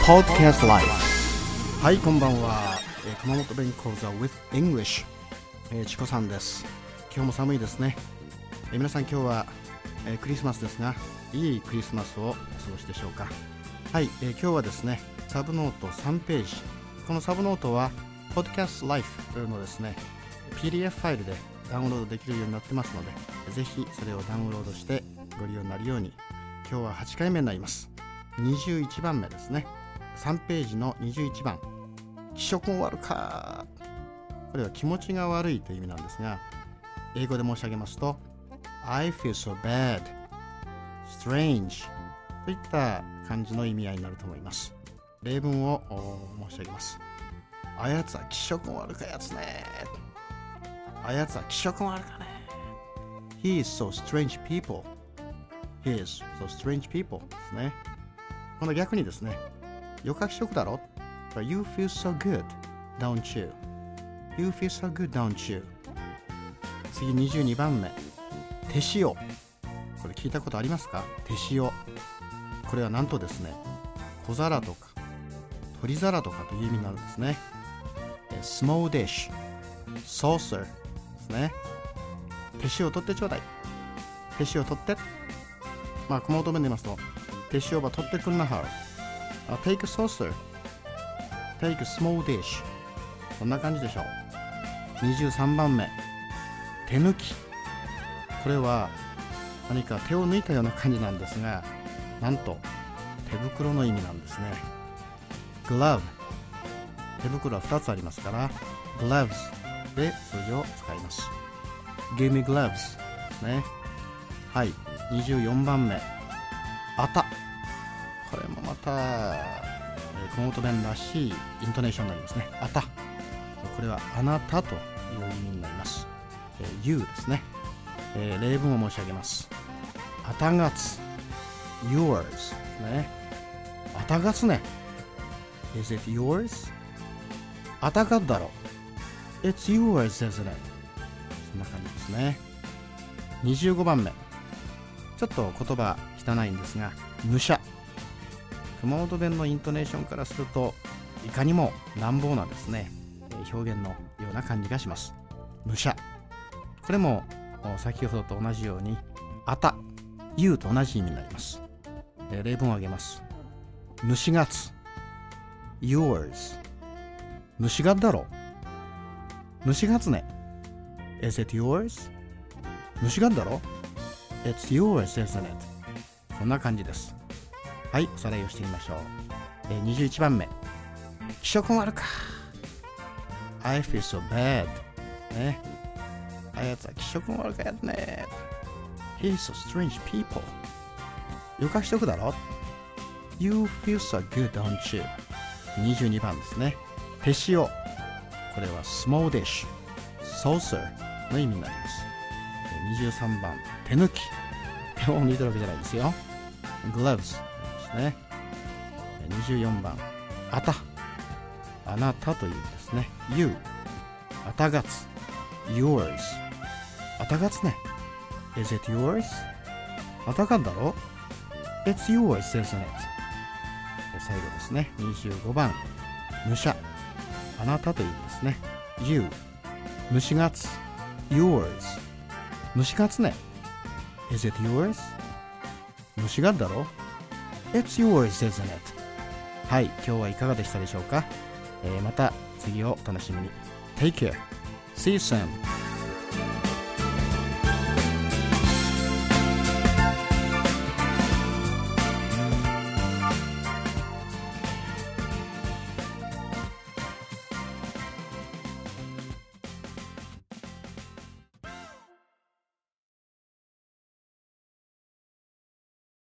Podcast Life。はい、こんばんは。熊本弁講座 with English、チコさんです。今日も寒いですね。皆さん今日は、クリスマスですが、いいクリスマスをお過ごしでしょうか。はい、今日はですね、サブノート3ページ。このサブノートは Podcast Life のですね、PDF ファイルでダウンロードできるようになってますので、ぜひそれをダウンロードしてご利用になるように。今日は8回目になります。21番目ですね。3ページの21番。気色も悪か。これは気持ちが悪いという意味なんですが、英語で申し上げますと I feel so bad, strange といった感じの意味合いになると思います。例文を申し上げます。あやつは気色も悪かやつね。あやつは気色も悪かね。He is so strange people. He is so strange people ですね。この逆にですね、よか気色だろ You feel so good, don't you? You feel so good, don't you? 次22番目。手塩。これ聞いたことありますか？手塩。これはなんとですね、小皿とか取り皿とかという意味になるんですね。small dish, saucer ですね。手塩取ってちょうだい。手塩取って。まあ、熊本弁で言いますと、手塩ば取ってくんなはる。take a saucer, take a small dish。こんな感じでしょう。23番目。手抜き。これは何か手を抜いたような感じなんですが、なんと手袋の意味なんですね。glove。手袋は2つありますから、gloves で通常使います。give me gloves ですね。はい。24番目。あた。これもまた熊本弁らしいイントネーションになりますね。あた。これはあなたという意味になります。you ですね。例文を申し上げます。あたがつ yours ですね。あたがつね。Is it yours? あたがだろ。It's yours, isn't it? そんな感じですね。25番目。ちょっと言葉汚いんですが、むしゃ。熊本弁のイントネーションからするといかにも乱暴なですね、表現のような感じがします。むしゃ。これも先ほどと同じようにあた、you と同じ意味になります。例文を挙げます。虫がつ yours。 虫がだろ。虫がつね。 Is it yours? 虫がだろ。 It's yours, isn't it? こんな感じです。はい、おさらいをしてみましょう。21番目。気色も悪か。I feel so bad。ね。あやつは気色も悪かやつね。He's so strange people。よか気色だろ。You feel so good, don't you? 22番ですね。手塩。これは small dish, saucer の意味になります。23番。手抜き。手を抜いてるわけじゃないですよ。gloves ですね。24番。あた。あなたというですね。you。あたがつ。yours。あたがつね。Is it yours? あたがんだろ。It's yours, isn't it? 最後ですね。25番。むしゃ。あなたというですね。you。虫がつ。yours。虫がつね。Is it yours? 虫がだろ。It's yours, isn't it? はい、今日はいかがでしたでしょうか。また次をお楽しみに。Take care. See you soon.